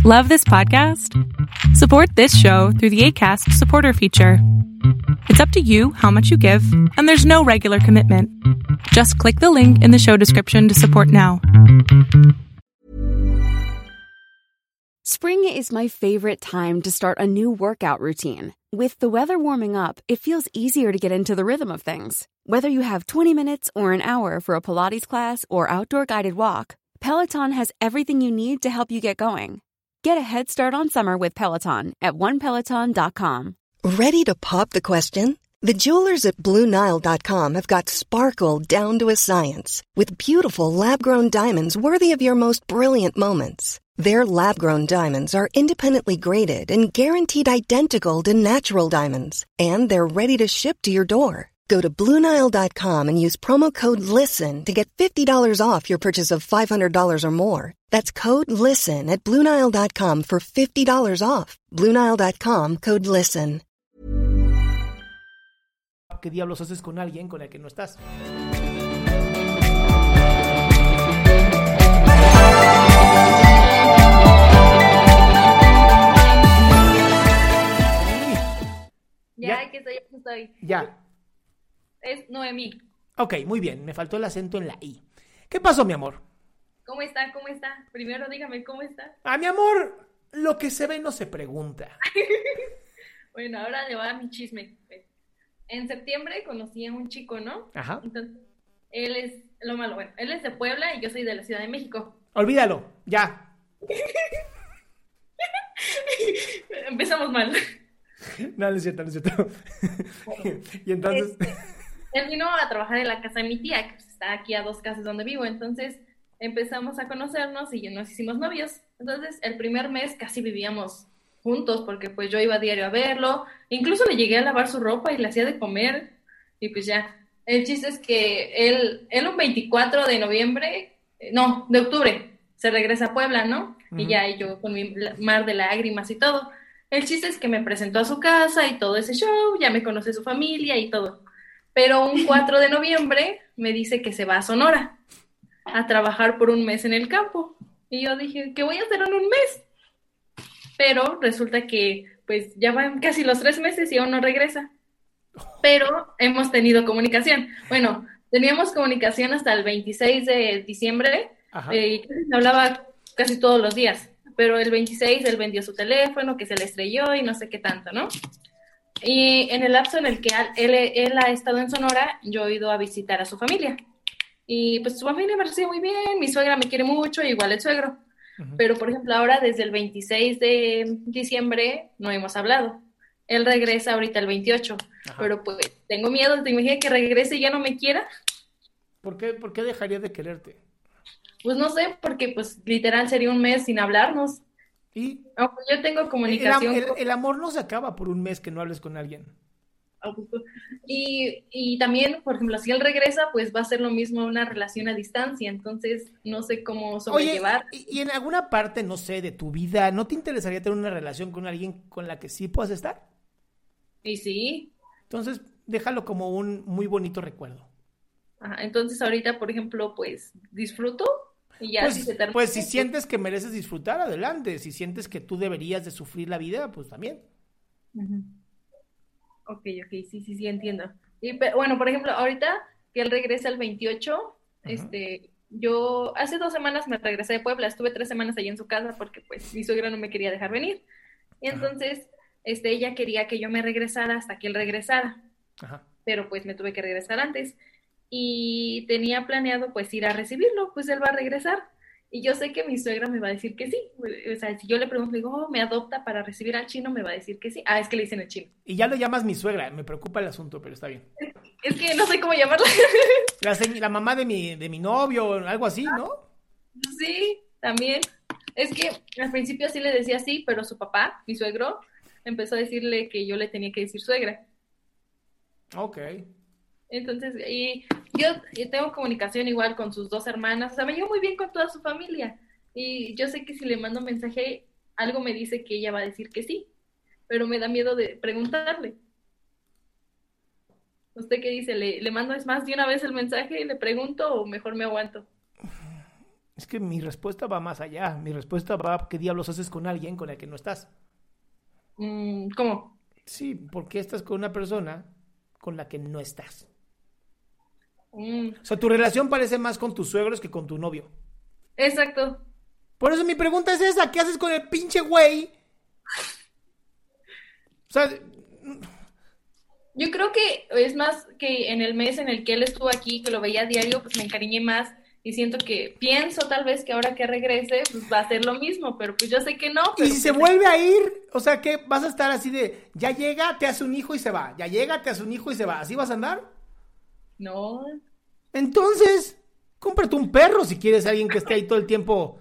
Love this podcast? Support this show through the Acast supporter feature. It's up to you how much you give, and there's no regular commitment. Just click the link in the show description to support now. Spring is my favorite time to start a new workout routine. With the weather warming up, it feels easier to get into the rhythm of things. Whether you have 20 minutes or an hour for a Pilates class or outdoor guided walk, Peloton has everything you need to help you get going. Get a head start on summer with Peloton at onepeloton.com. Ready to pop the question? The jewelers at BlueNile.com have got sparkle down to a science with beautiful lab-grown diamonds worthy of your most brilliant moments. Their lab-grown diamonds are independently graded and guaranteed identical to natural diamonds, and they're ready to ship to your door. Go to BlueNile.com and use promo code LISTEN to get $50 off your purchase of $500 or more. That's code LISTEN at BlueNile.com for $50 off. BlueNile.com, code LISTEN. ¿Qué diablos haces con alguien con el que no estás? Ya, aquí estoy. Ya. Es Noemí. Ok, muy bien. Me faltó el acento en la I. ¿Qué pasó, mi amor? ¿Cómo está? Primero dígame, ¿cómo está? Mi amor, lo que se ve no se pregunta. Bueno, ahora le va mi chisme. En septiembre conocí a un chico, ¿no? Ajá. Entonces, él es de Puebla y yo soy de la Ciudad de México. Olvídalo, ya. Empezamos mal. No es cierto. Bueno, y entonces... Él vino a trabajar en la casa de mi tía, que está aquí a 2 casas donde vivo. Entonces empezamos a conocernos y nos hicimos novios. Entonces el primer mes casi vivíamos juntos porque pues yo iba a diario a verlo. Incluso le llegué a lavar su ropa y le hacía de comer. Y pues ya. El chiste es que él un 24 de octubre, se regresa a Puebla, ¿no? Uh-huh. Y ya yo con mi mar de lágrimas y todo. El chiste es que me presentó a su casa y todo ese show, ya me conoce su familia y todo. Pero un 4 de noviembre me dice que se va a Sonora a trabajar por un mes en el campo. Y yo dije, ¿qué voy a hacer en un mes? Pero resulta que pues ya van casi los 3 meses y aún no regresa. Pero hemos tenido comunicación. Bueno, teníamos comunicación hasta el 26 de diciembre y me hablaba casi todos los días. Pero el 26 él vendió su teléfono, que se le estrelló y no sé qué tanto, ¿no? Y en el lapso en el que él ha estado en Sonora, yo he ido a visitar a su familia. Y pues su familia me recibe muy bien, mi suegra me quiere mucho, igual el suegro. Uh-huh. Pero, por ejemplo, ahora desde el 26 de diciembre no hemos hablado. Él regresa ahorita el 28, ajá, pero pues tengo miedo, ¿te imaginas que regrese y ya no me quiera? ¿Por qué dejaría de quererte? Pues no sé, porque pues literal sería un mes sin hablarnos. ¿Y? Aunque yo tengo comunicación. El amor no se acaba por un mes que no hables con alguien. Y también, por ejemplo, si él regresa, pues va a ser lo mismo una relación a distancia, entonces no sé cómo sobrellevar. Oye, y en alguna parte, no sé, de tu vida, ¿no te interesaría tener una relación con alguien con la que sí puedas estar? Y sí. Entonces, déjalo como un muy bonito recuerdo. Ajá, entonces ahorita, por ejemplo, pues disfruto. Y ya, pues si sientes que mereces disfrutar, adelante. Si sientes que tú deberías de sufrir la vida, pues también. Uh-huh. Ok, sí, entiendo. Pero, bueno, por ejemplo, ahorita que él regresa el 28, uh-huh, yo hace 2 semanas me regresé de Puebla, estuve 3 semanas allí en su casa porque pues mi suegra no me quería dejar venir. Y entonces, uh-huh, ella quería que yo me regresara hasta que él regresara. Uh-huh. Pero pues me tuve que regresar antes. Y tenía planeado pues ir a recibirlo, pues él va a regresar. Y yo sé que mi suegra me va a decir que sí. O sea, si yo le pregunto, digo, ¿me adopta para recibir al chino? Me va a decir que sí. Es que le dicen el chino. Y ya lo llamas mi suegra, me preocupa el asunto, pero está bien. Es que no sé cómo llamarla. La mamá de mi novio, algo así, ¿no? Sí, también. Es que al principio sí le decía sí, pero su papá, mi suegro, empezó a decirle que yo le tenía que decir suegra. Ok. Entonces, y yo tengo comunicación igual con sus 2 hermanas, o sea, me llevo muy bien con toda su familia, y yo sé que si le mando un mensaje, algo me dice que ella va a decir que sí, pero me da miedo de preguntarle. ¿Usted qué dice? ¿Le mando es más de una vez el mensaje y le pregunto o mejor me aguanto? Es que mi respuesta va más allá. Mi respuesta va, ¿qué diablos haces con alguien con el que no estás? ¿Cómo? Sí, ¿por qué estás con una persona con la que no estás? O sea, tu relación parece más con tus suegros que con tu novio. Exacto. Por eso mi pregunta es esa, ¿qué haces con el pinche güey? O sea, yo creo que es más que en el mes en el que él estuvo aquí, que lo veía a diario, pues me encariñé más y siento que pienso tal vez que ahora que regrese, pues va a ser lo mismo, pero pues yo sé que no. y si se vuelve a ir, o sea, ¿qué? ¿Vas a estar así de, ya llega, te hace un hijo y se va, ya llega, te hace un hijo y se va, ¿así vas a andar? No. Entonces, cómprate un perro si quieres a alguien que esté ahí todo el tiempo.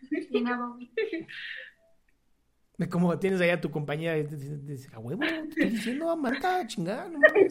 Como tienes ahí a tu compañía, a huevo, te estoy diciendo, Marta, chingada, no mames.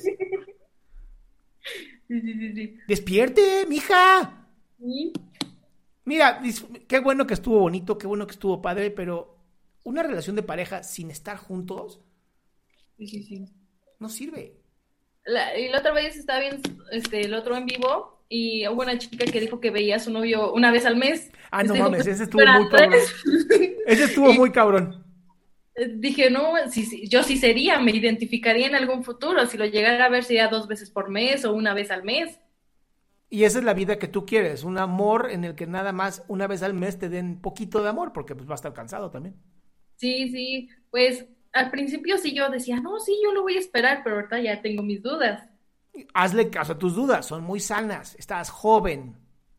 Sí. Despierte, mija. ¿Sí? Mira, qué bueno que estuvo bonito, qué bueno que estuvo padre, pero una relación de pareja sin estar juntos Sí. no sirve. Y la otra vez estaba viendo el otro en vivo y hubo una chica que dijo que veía a su novio una vez al mes. Ah, no mames, ese estuvo fuera muy cabrón. tres. Ese estuvo muy cabrón. Dije, no, sí, yo sí sería, me identificaría en algún futuro. Si lo llegara a ver, sería 2 veces por mes o una vez al mes. Y esa es la vida que tú quieres, un amor en el que nada más una vez al mes te den poquito de amor, porque pues va a estar cansado también. Sí, pues al principio sí yo decía, no, sí, yo lo voy a esperar, pero ahorita ya tengo mis dudas. Hazle caso a tus dudas, son muy sanas, estás joven.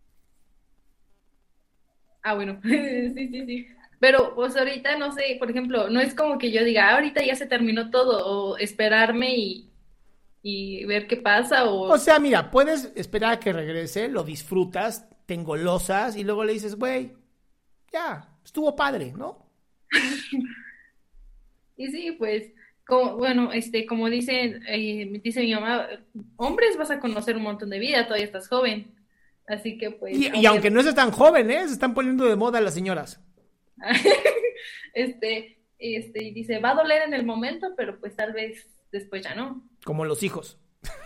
Ah, bueno, sí. Pero pues ahorita, no sé, por ejemplo, no es como que yo diga, ahorita ya se terminó todo, o esperarme y ver qué pasa, O sea, mira, puedes esperar a que regrese, lo disfrutas, te engolosas y luego le dices, güey, ya, estuvo padre, ¿no? Y sí, pues, como dice mi mamá, hombres vas a conocer un montón de vida, todavía estás joven. Así que pues. Y aunque no seas tan joven, se están poniendo de moda las señoras. Y dice, va a doler en el momento, pero pues tal vez después ya no. Como los hijos.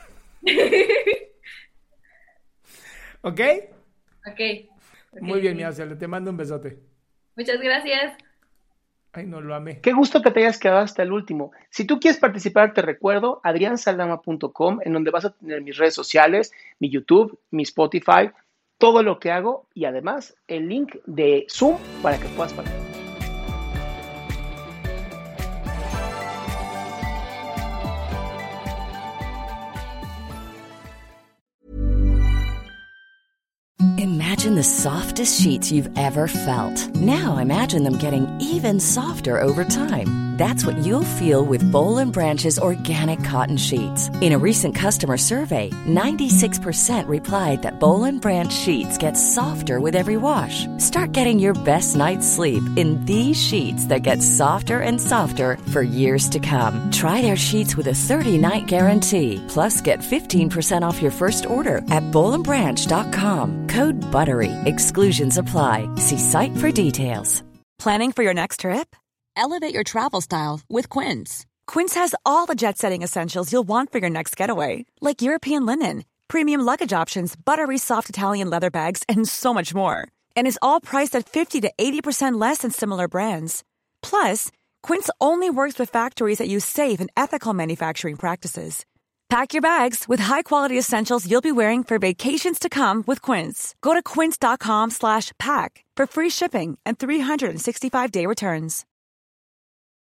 ¿Ok? Ok. Muy bien, mi Arcel, te mando un besote. Muchas gracias. Ay, no, lo amé. Qué gusto que te hayas quedado hasta el último. Si tú quieres participar, te recuerdo adriansaldama.com, en donde vas a tener mis redes sociales, mi YouTube, mi Spotify, todo lo que hago y además el link de Zoom para que puedas participar. Imagine the softest sheets you've ever felt. Now imagine them getting even softer over time. That's what you'll feel with Boll & Branch's organic cotton sheets. In a recent customer survey, 96% replied that Boll & Branch sheets get softer with every wash. Start getting your best night's sleep in these sheets that get softer and softer for years to come. Try their sheets with a 30-night guarantee. Plus, get 15% off your first order at BollandBranch.com. Code BUTTERY. Exclusions apply. See site for details. Planning for your next trip? Elevate your travel style with Quince. Quince has all the jet-setting essentials you'll want for your next getaway, like European linen, premium luggage options, buttery soft Italian leather bags, and so much more. And is all priced at 50 to 80% less than similar brands. Plus, Quince only works with factories that use safe and ethical manufacturing practices. Pack your bags with high-quality essentials you'll be wearing for vacations to come with Quince. Go to quince.com/pack for free shipping and 365-day returns.